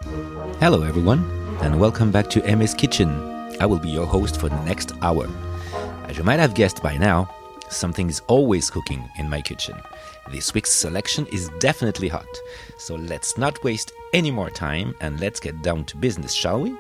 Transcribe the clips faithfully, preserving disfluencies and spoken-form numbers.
Hello everyone, and welcome back to Aimé's Kitchen. I will be your host for the next hour. As you might have guessed by now, something is always cooking in my kitchen. This week's selection is definitely hot, so let's not waste any more time and let's get down to business, shall we?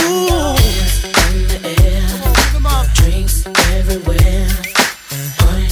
Everywhere.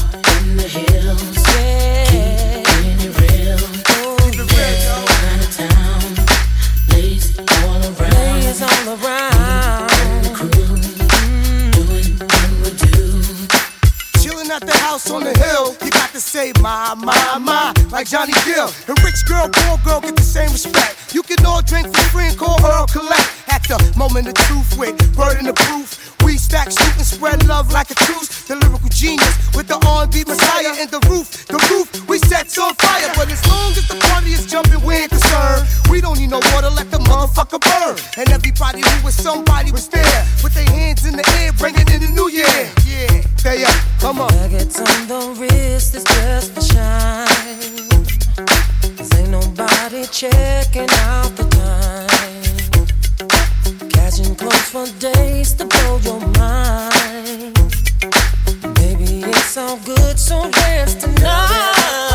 chillin' at the house on the hill. You got to say my, my, my, like Johnny Gill. And rich girl, poor girl get the same respect. You can all drink for free and call her or collect. At the moment of truth with word in the proof. We stack, shoot, and spread love like a truce. The lyrical genius with the R and B messiah. And the roof, the roof, we set on fire. But as long as the party is jumping, we ain't concerned. We don't need no water, let the motherfucker burn. And everybody who was somebody was there with their hands in the air, bringing in the new year. Yeah, stay up, come on. Nuggets on the wrist is just for shine. Cause ain't nobody checking out the time. Catching clothes for days to blow your mind. Baby, it's all good, so dance tonight.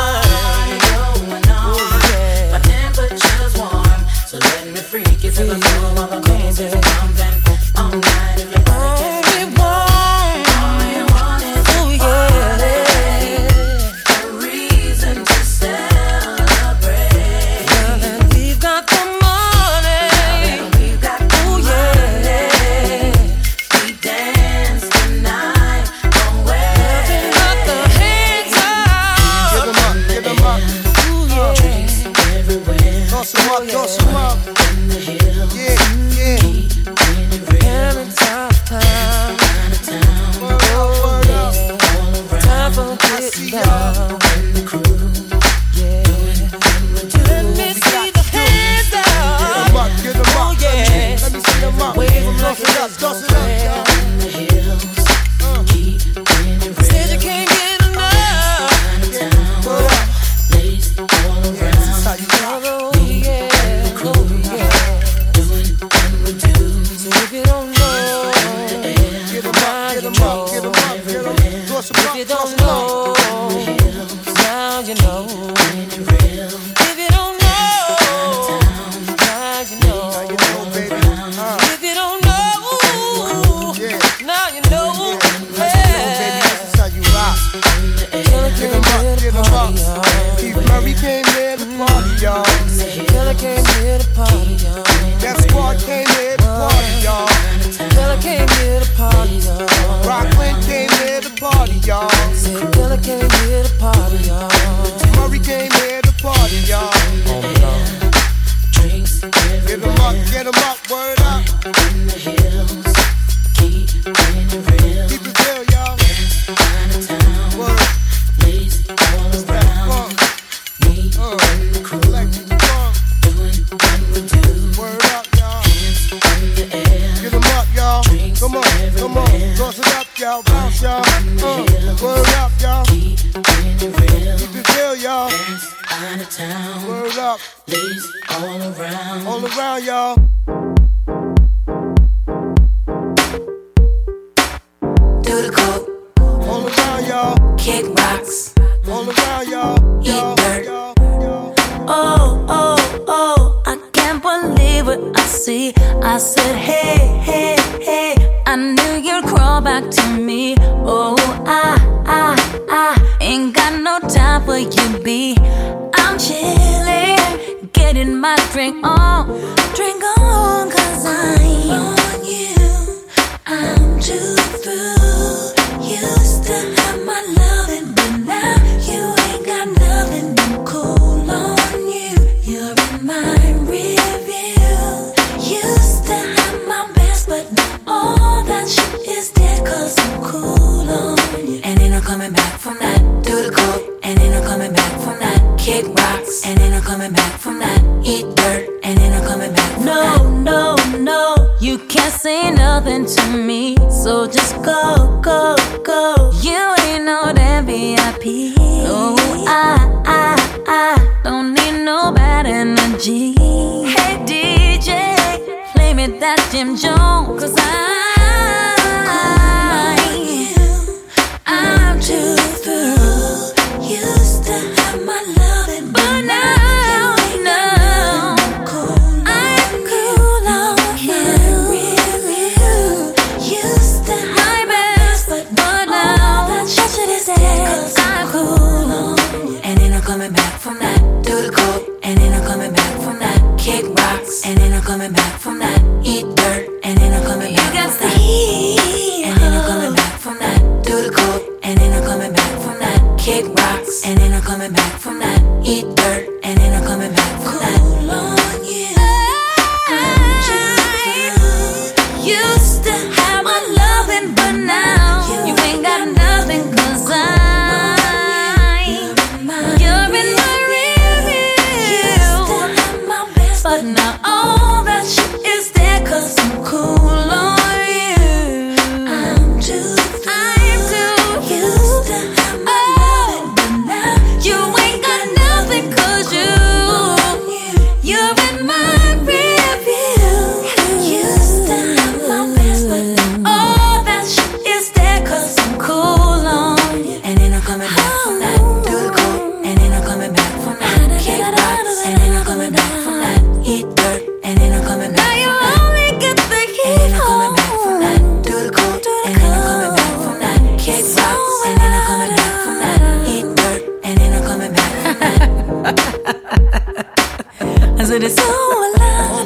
Going on. Yeah. My temperature's warm, so let me freak you to the floor of a music pumping all night. If your body gets me warm, all you want is oh, yeah. A reason to celebrate. Now that we've got the money, now that we've got the oh, yeah. money, we dance tonight. Don't wait. Nothing but the hands up. Give 'em up, give 'em up. Ooh, yeah. Drinks everywhere. Toss 'em up, toss 'em up. In the hills. Yeah, yeah. When you're real. Parents out of town. Out of town. Word up, word up. All around. Time for I see getting y'all. down. And the crew. Yeah. Let me see the hands Get 'em up. up, get 'em up. Oh, yeah. Let me see 'em up. Wave 'em Toss like it a up, toss it up, baseball y'all. In the hills. Keep when you're real. Said you can't get enough. Out of town. Word up. Ladies all This is around. how you rock. Oh, yeah. Oh, yeah. Doing what we do. So if you don't know, Get 'em up, get 'em up, get 'em up, get 'em up. Toss 'em if up, you toss don't 'em up. know, now you know. When you're real. If you don't know, now you know. You know, baby. Uh, If you don't know, yeah. now you know. Baby, this is how you rock. Killer Get came 'em up, here to get 'em party, up. y'all. Keith Murray came here to party, y'all. Killer came here to party, y'all. That squad came here to party, y'all. Killer came here to party, y'all. Rockland came here to party, y'all. Said Killer came here to party, y'all. Murray came here to party, y'all. Drinks Get everywhere. 'em up, get 'em up, word up. In the hills. Keep when you're real. Keep it real, y'all. Out of town. Word up. Ladies all around. Funk, Me uh, and the crew. electric funk. Doing what we do. Word up, y'all. Hands in the air. Get 'em up, y'all. Come on, come on. Toss it up, y'all. Bounce, y'all. Uh, word up, y'all. Keep when you're real. Keep it real, y'all. Out of town. Word up. Ladies all around. All around, y'all. Do the coke. All around, y'all. Kick rocks. All around, y'all. Y'all, dirt. y'all, y'all. Oh, oh, oh, I can't believe what I see. I said, hey, hey, hey, I knew you'd crawl back to me. Oh, I, I, I ain't got no time for you, B. I'm chilling, getting my drink on. Drink on, cause I'm on you. I'm too through. You still have my loving, but now you ain't got nothing. I'm cool on you. You're in my rear view. You still have my best, but all that shit is dead, cause I'm cool on you. And ain't no coming back from that. Do the coke. And ain't no coming back from that. Kick rocks. And ain't no coming back from that. Eat dirt. And ain't no coming back from No, that. no, no, you can't say nothing to me. So just go, go, go. You ain't no damn V I P. No, I, I, I don't need no bad energy. Hey D J, play me that Jim Jones, cause I, I'm too through. You still have my loving, But now, now, I'm cool on you. You still have my best, but now, that shit is dead, cause I'm cool on you. And ain't no coming back from that. Do the coke. And ain't no coming back from that. Kick rocks. And ain't no coming back from that. Eat dirt. And ain't no coming back from that. And ain't no coming back from that. Do the coke. And ain't no coming back. kick rocks, and then I'm coming back from that. Eat dirt, and then I'm coming back from that. Cool on you. I used to have my loving, but now you ain't got nothing, cause I, you're in my rear view. But now all that shit is there, cause I'm cool on you. I'm too, I'm too used to have my loving, but now you ain't got nothing, cause you, you're in my rear view. Used to have my best, but all that shit is there, cause I'm cool on you. And then I'm coming back from that. Do the cool, and then I'm coming back from that. Kick rocks, and then I'm coming back from that. Eat dirt, and then I'm coming back. Now you only get the heat. And then I'm coming back from that. Do the cool, and then I'm coming back from that. Kick rocks, and then I'm coming back from that. Eat dirt, and then I'm coming back from that. I said it's so alive.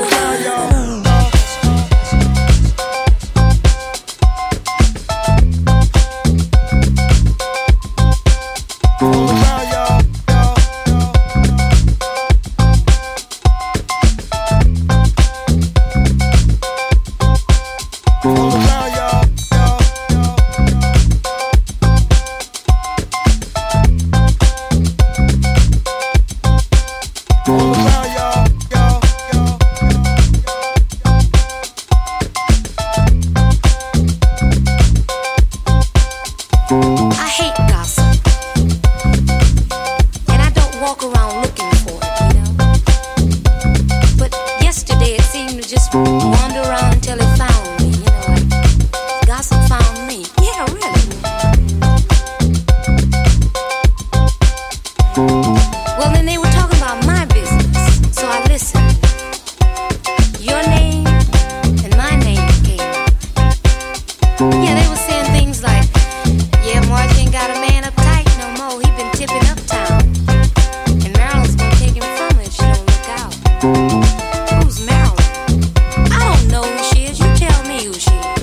I hate gossip, and I don't walk around looking for it, you know. But yesterday it seemed to just wander around until it found me, you know, like gossip found me. Yeah, really. Well, then they were talking about my business, so I listened. Your name and my name came up. Yeah, they were saying things like, yeah, March ain't got a man uptight no more. He been tipping uptown, and Marilyn's gonna take him from her if she don't look out. Who's Marilyn? I don't know who she is. You tell me who she is.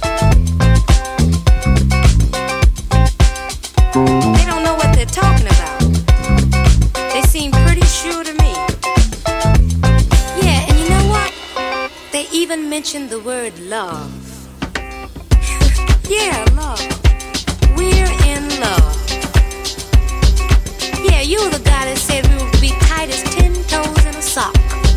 They don't know what they're talking about. They seem pretty sure to me. Yeah, and you know what? They even mentioned the word love. Yeah, love. We're in love. Yeah, you were the guy that said we would be tight as ten toes in a sock.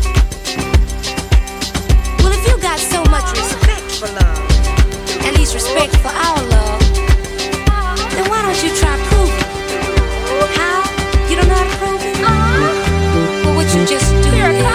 Well, if you got so much respect for love, at least respect for our love, then why don't you try proving it? How? You don't know how to prove it? Well, what you just do Here is...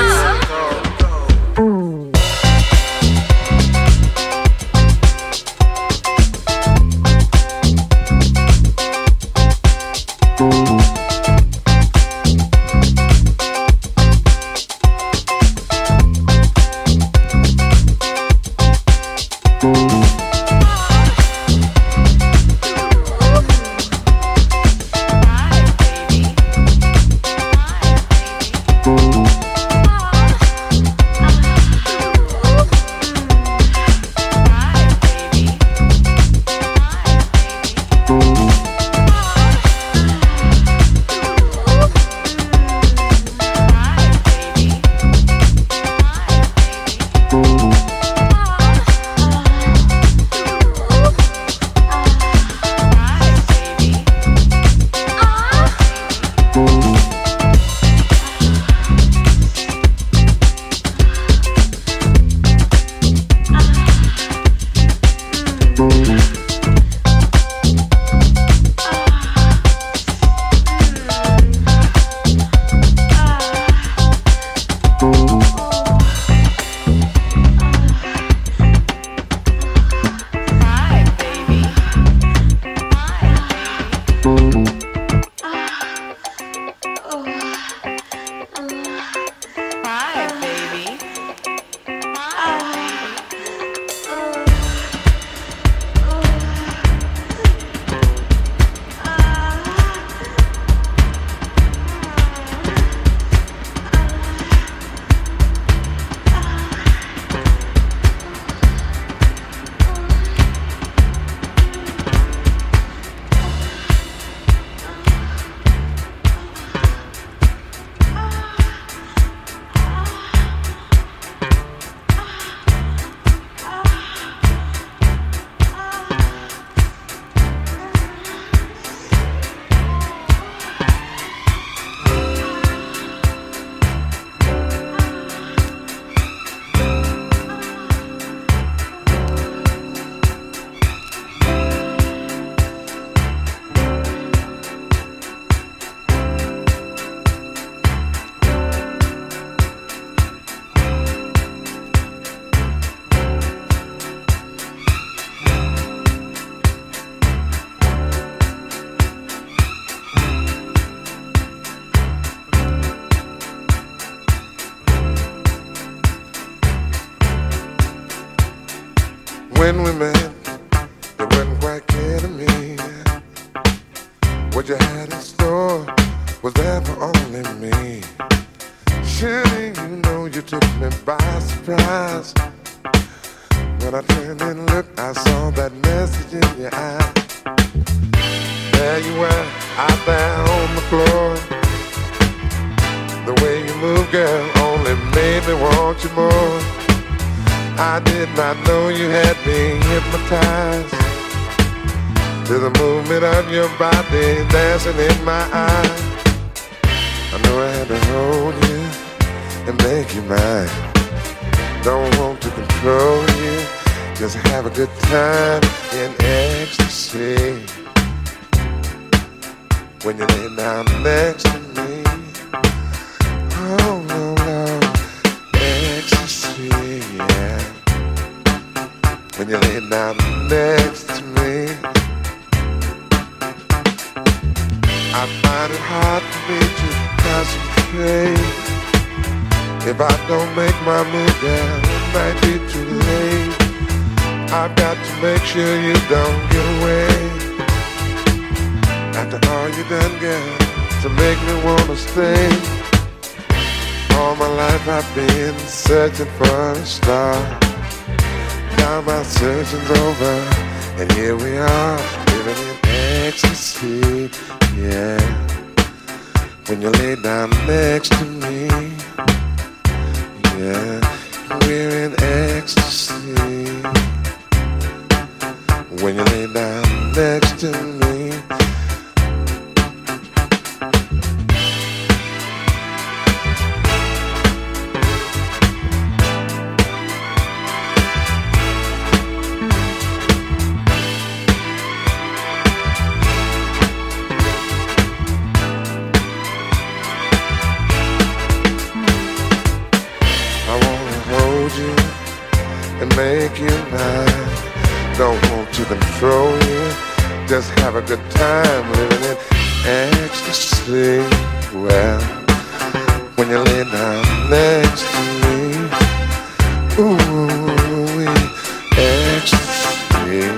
When we met, it wasn't quite clear to me what you had in store was there for only me. Surely you know you took me by surprise. When I turned and looked, I saw that message in your eye. There you were, out there on the floor. The way you move, girl, only made me want you more. I did not know you had me hypnotized to the movement of your body dancing in my eyes. I knew I had to hold you and make you mine. Don't want to control you, just have a good time in ecstasy. When you lay down next to me, oh no, no, ecstasy, yeah. When you lay down next to me, I find it hard for me to concentrate. If I don't make my move, girl, it might be too late. I've got to make sure you don't get away. After all you done, girl, to make me wanna stay. All my life I've been searching for a star. Now my searching's over, and here we are, living in ecstasy, yeah. When you lay down next to me, yeah, we're in ecstasy. When you lay down next to me, make you mine. Don't want to control you, just have a good time living in ecstasy. Well, when you lay down next to me, ooh, ecstasy.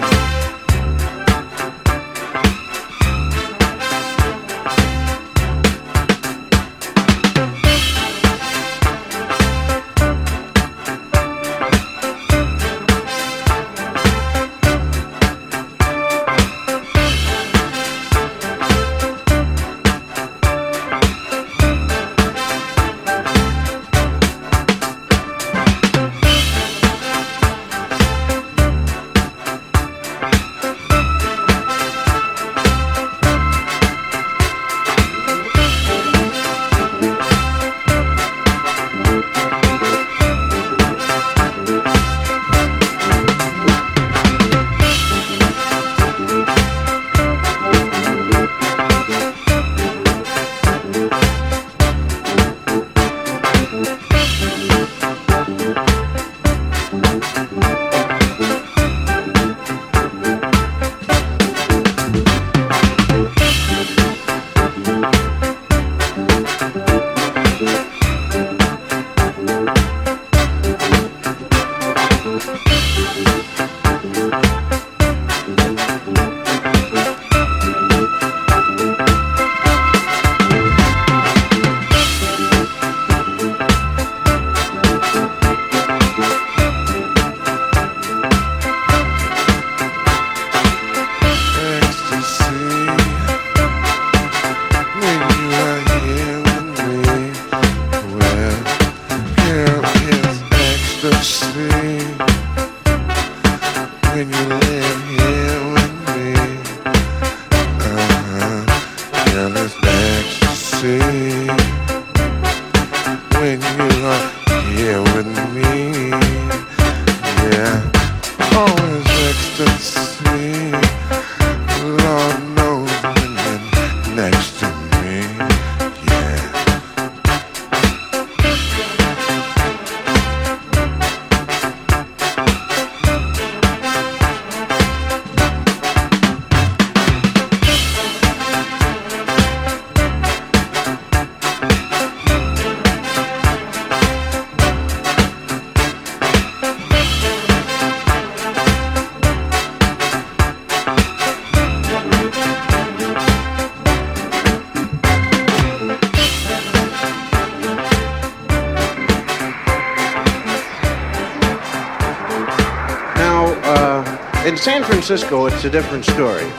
San Francisco, it's a different story.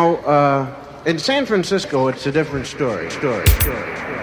Now, uh, in San Francisco, it's a different story. Story. Story. Story.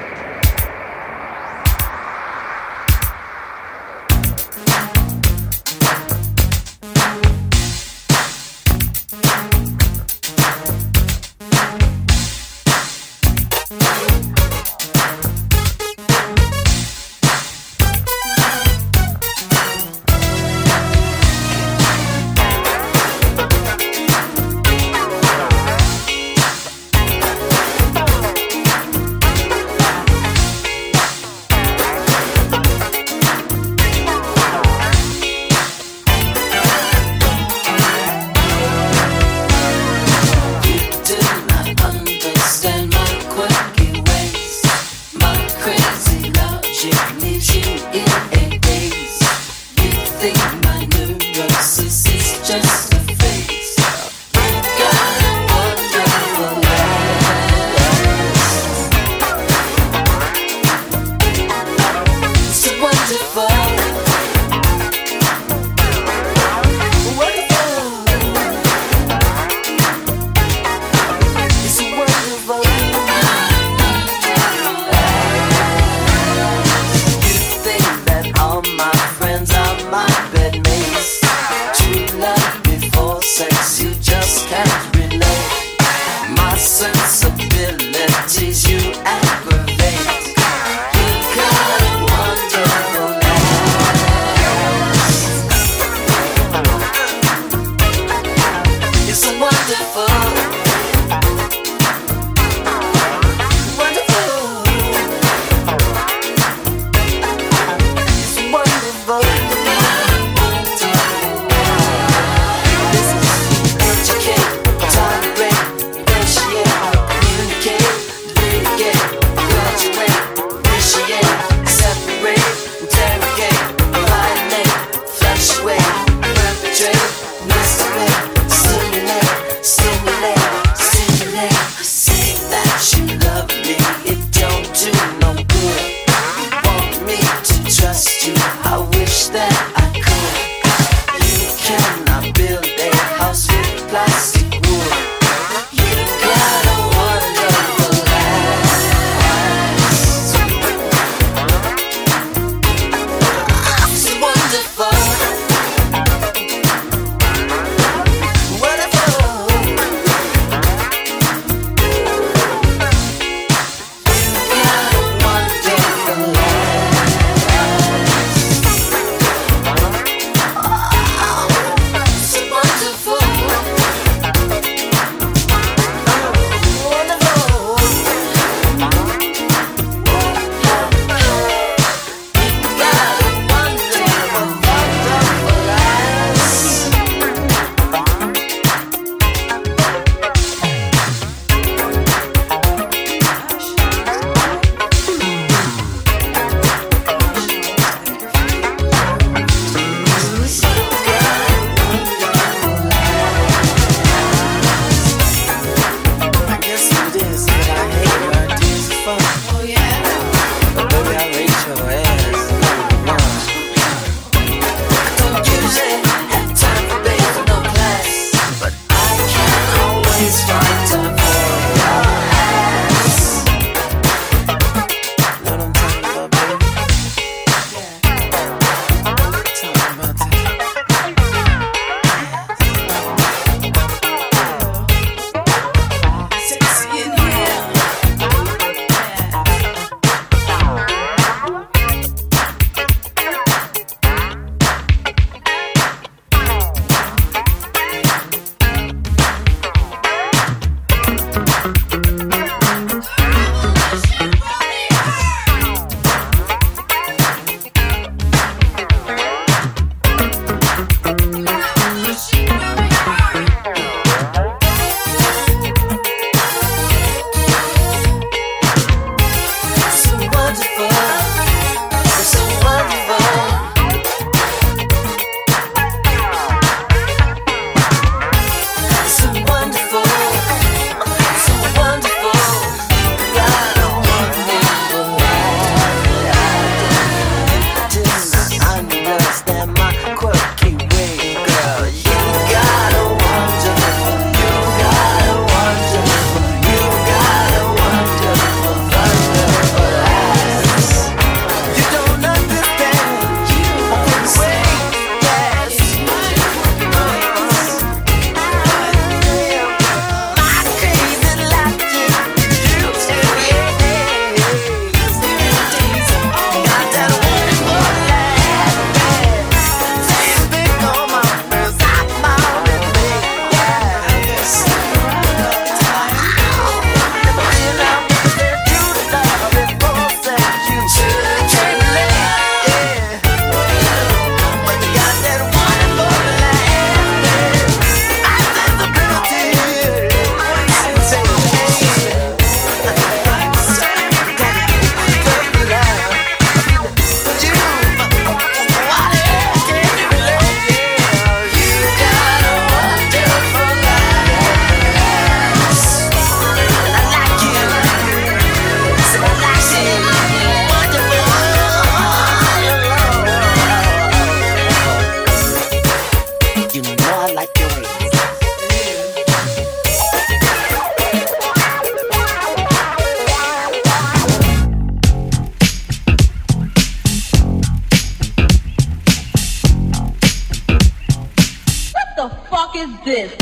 is this?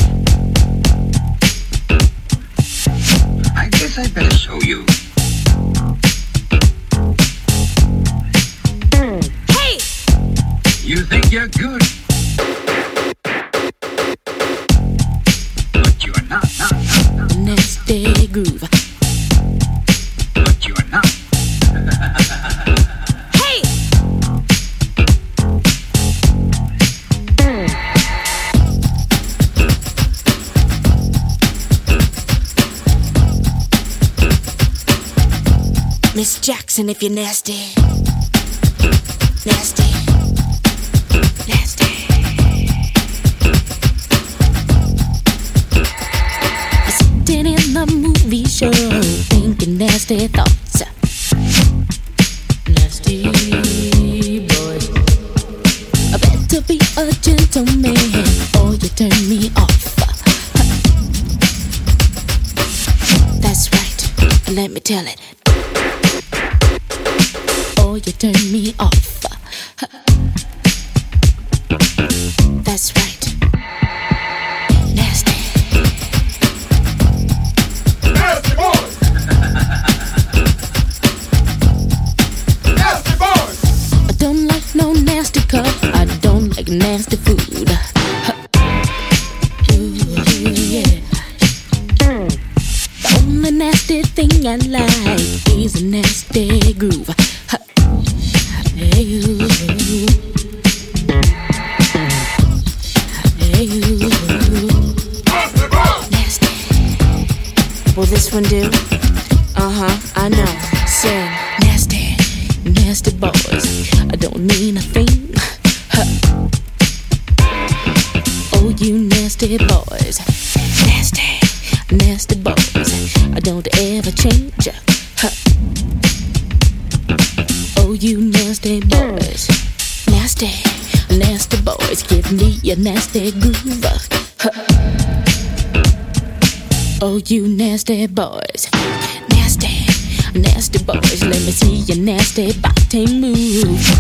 I guess I'd better show you. Hey! You think you're good, but you're not, not, not, not. Nasty groove. But you're not. Hey! Miss Jackson, if you're nasty. Nasty. Nasty. I'm sitting in the movie show, thinking nasty thoughts. Nasty boys. I better be a gentleman, or you turn me off. That's right, let me tell it. Or you turn me off. That's right. Nasty. Nasty boys. Nasty boys. I don't like no nasty cup. I don't like nasty food. Ooh, yeah. The only nasty thing I like is a nasty groove. Hey you, hey you, nasty. Will this one do? Uh huh, I know. Sing, nasty, nasty boys. I don't mean a thing. Oh, you nasty boys, nasty, nasty boys. I don't ever change. Oh, you nasty boys, nasty, nasty boys, give me a nasty groove. Oh, you nasty boys, nasty, nasty boys, let me see your nasty body move.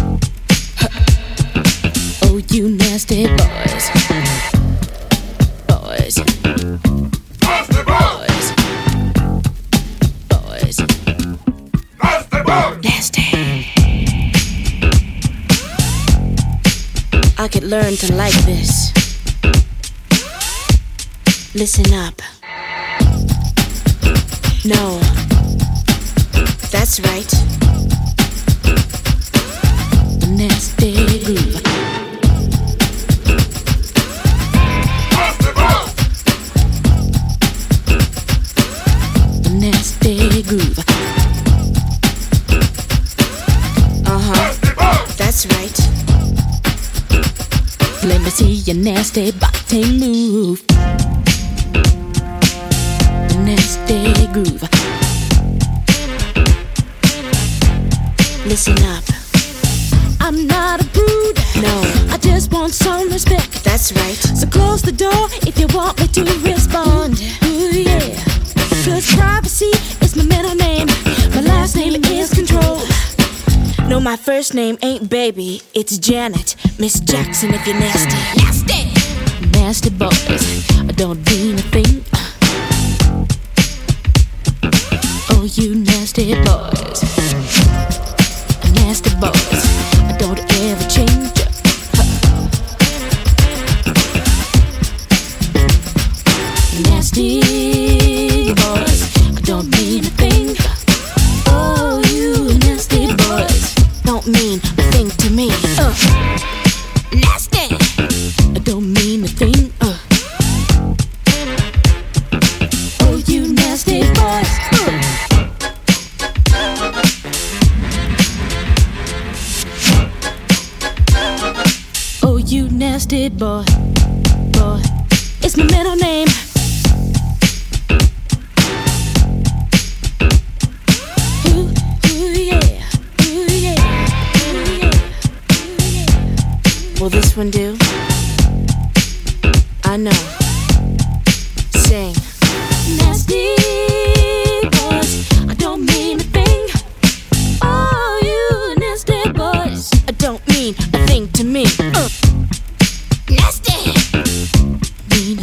Oh, you nasty boys, boys, Nasty boys. boys, boys, Nasty boys. nasty. I could learn to like this. Listen up. No, that's right. The nasty groove. Nasty boys. The nasty groove. Uh huh. Nasty boys. That's right. Let me see your nasty body move. The nasty groove. Listen up. I'm not a prude. No, I just want some respect. That's right. So close the door if you want me to respond. Ooh yeah. Cause privacy is my middle name. My last name is control. No, my first name ain't baby, it's Janet. Miss Jackson if you're nasty. Nasty! Nasty boys, I don't mean a thing. Oh, you nasty boys. Nasty boys, I don't ever change. Nasty boys, I don't mean a thing. Oh, you nasty boys don't mean a thing to me. Uh. Nasty. I don't mean a thing. Uh. Oh, you nasty boys. Uh. Oh, you nasty boy, boy. It's my middle name. Ooh, ooh yeah, ooh yeah, ooh yeah, ooh yeah. Will this one do? I know. Sing. Nasty boys, I don't mean a thing. Oh, you nasty boys, I don't mean a thing to me. Uh. Nasty. Mean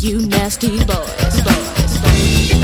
you nasty boys, boys, boys.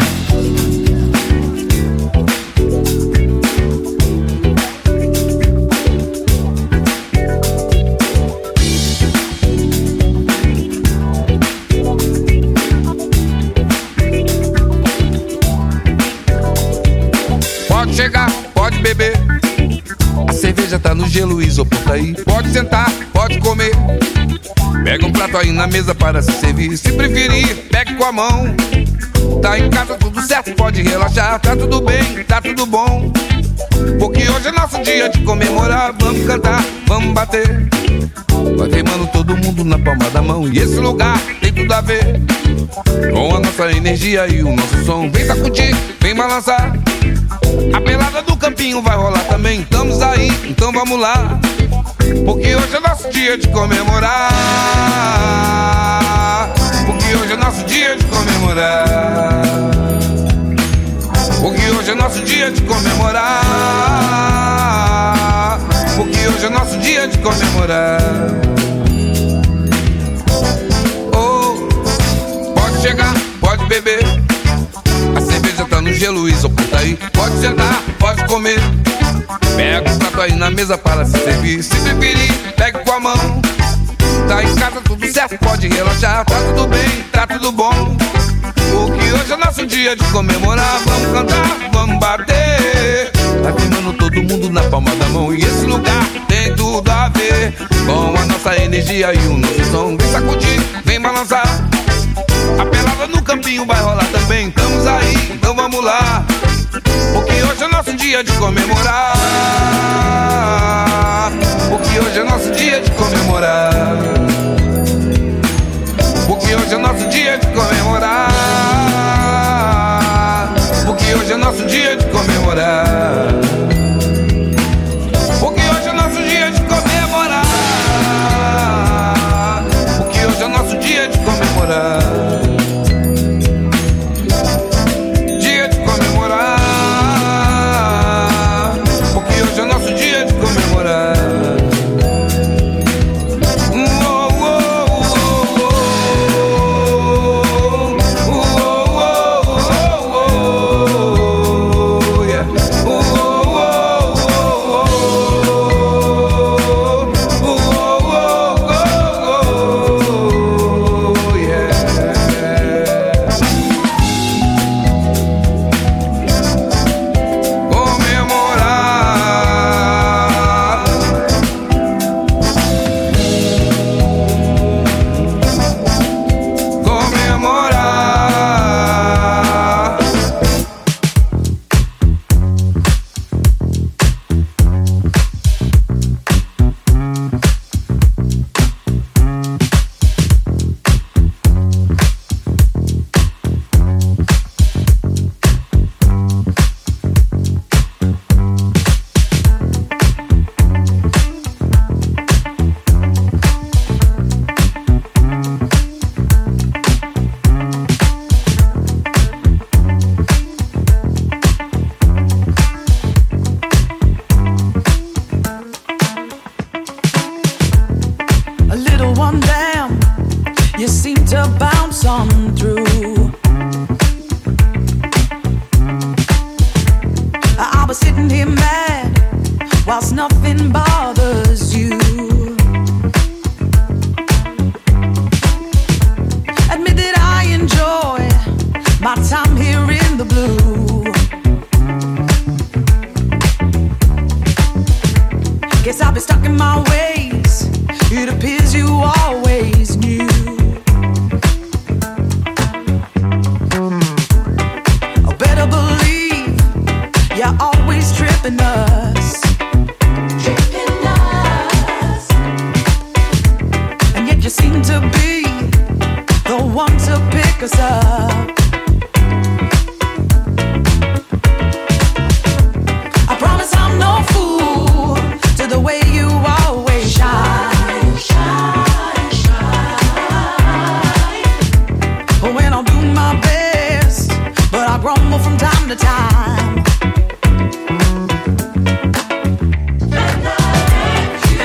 Pode chegar, pode beber. A cerveja tá no gelo, o isopor tá aí. Pode sentar, pode comer. Pega um prato aí na mesa para se servir. Se preferir, pegue com a mão. Tá em casa tudo certo, pode relaxar. Tá tudo bem, tá tudo bom. Porque hoje é nosso dia de comemorar. Vamos cantar, vamos bater. Vai queimando todo mundo na palma da mão. E esse lugar tem tudo a ver com a nossa energia e o nosso som. Vem sacudir, vem balançar. A pelada do campinho vai rolar também. Estamos aí, então vamos lá. Porque hoje é nosso dia de comemorar. Porque hoje é nosso dia de comemorar. Porque hoje é nosso dia de comemorar. Porque hoje é nosso dia de comemorar. Oh, pode chegar, pode beber. A cerveja tá no gelo, o isopor tá aí. Pode sentar, pode comer. Pega o prato aí na mesa para se servir. Se preferir, pegue com a mão. Tá em casa tudo certo, pode relaxar. Tá tudo bem, tá tudo bom. Porque hoje é nosso dia de comemorar. Vamos cantar, vamos bater. Tá queimando todo mundo na palma da mão. E esse lugar tem tudo a ver com a nossa energia e o nosso som. Vem sacudir, vem balançar. A pelada no campinho vai rolar também. Estamos aí, então vamos lá. Porque hoje é nosso dia de comemorar. Porque hoje é nosso dia de comemorar. Porque hoje é nosso dia de comemorar. Porque hoje é nosso dia de comemorar. Porque hoje é nosso dia de comemorar. Porque hoje é nosso dia de comemorar. Dia de comemorar. Porque hoje é nosso dia de comemorar.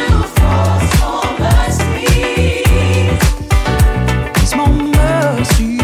It's more mercy.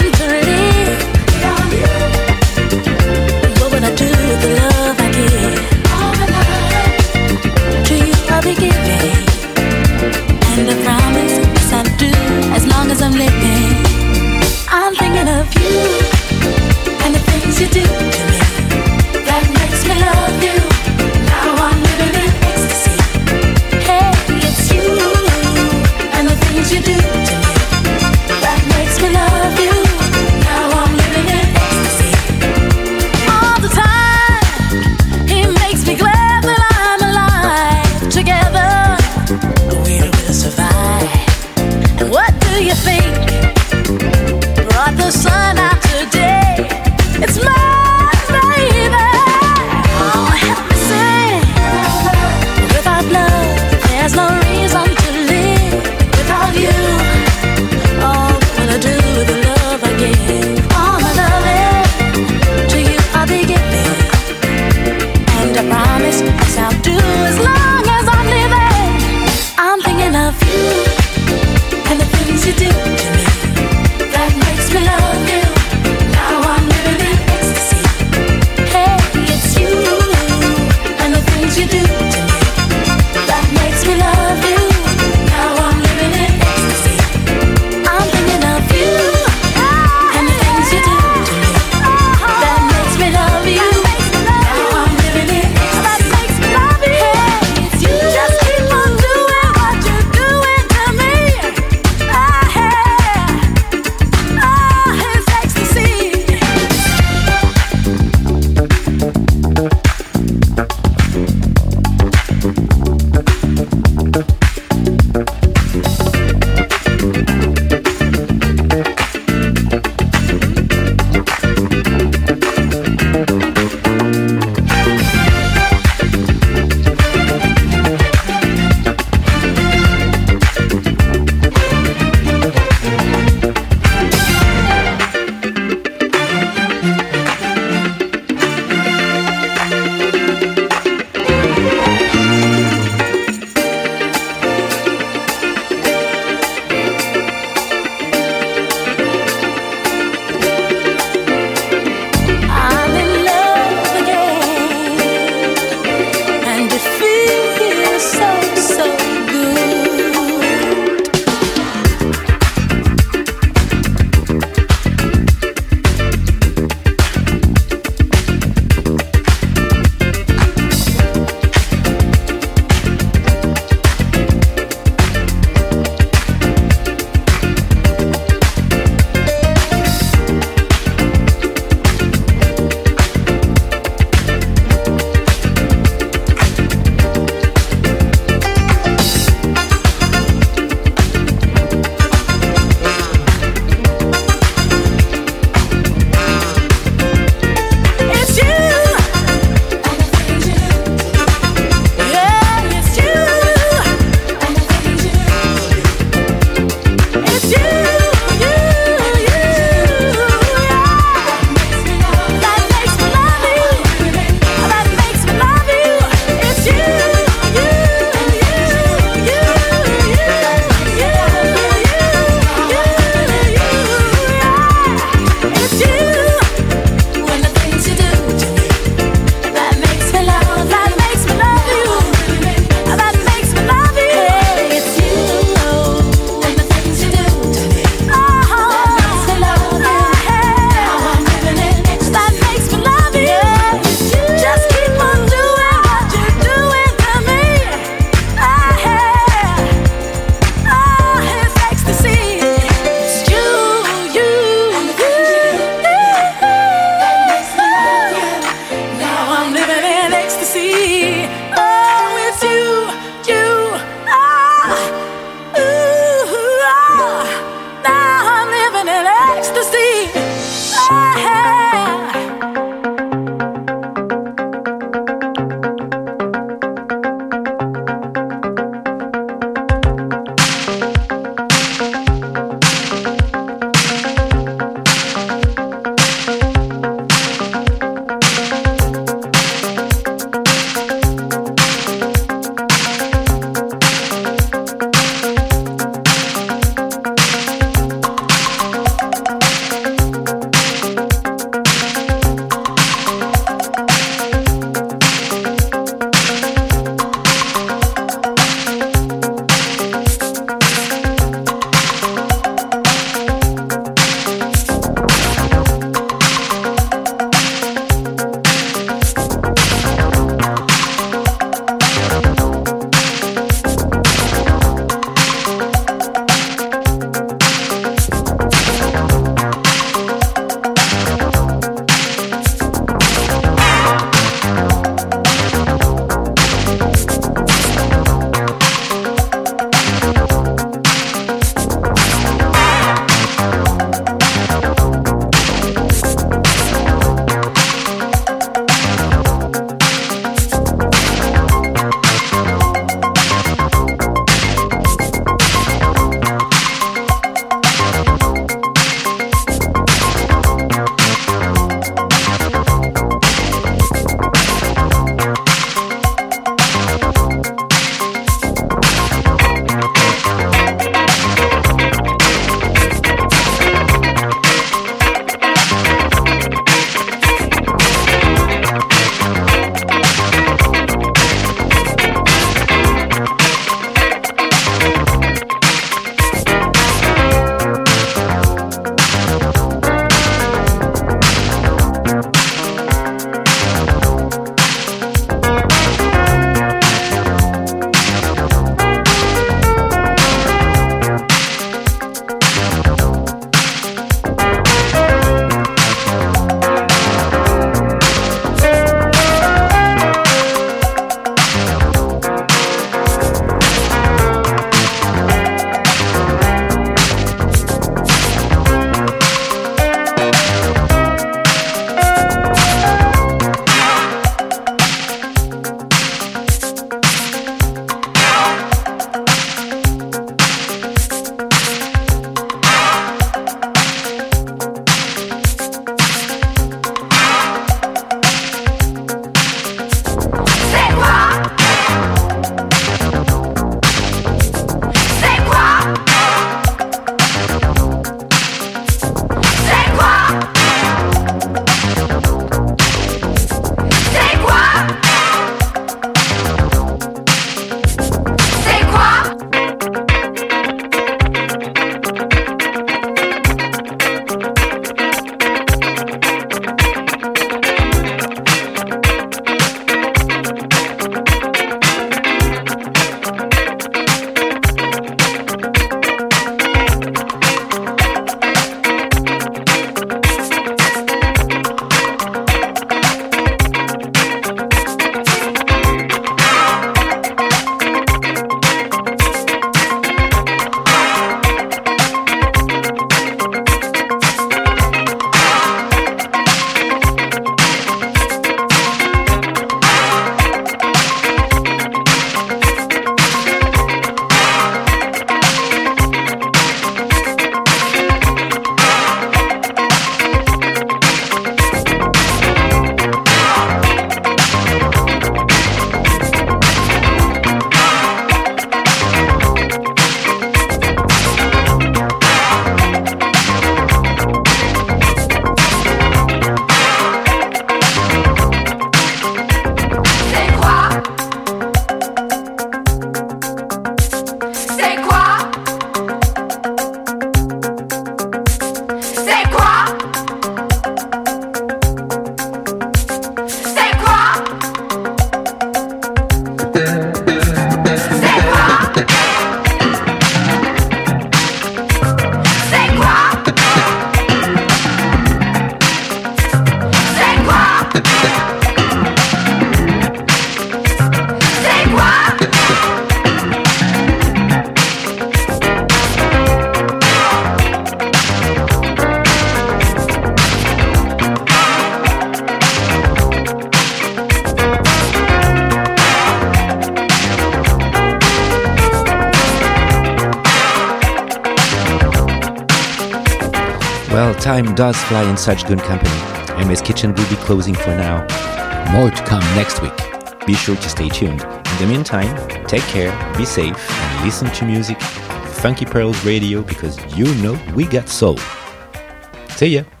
Well, time does fly in such good company. M S Kitchen will be closing for now. More to come next week. Be sure to stay tuned. In the meantime, take care, be safe, and listen to music. Funky Pearls Radio, because you know we got soul. See ya!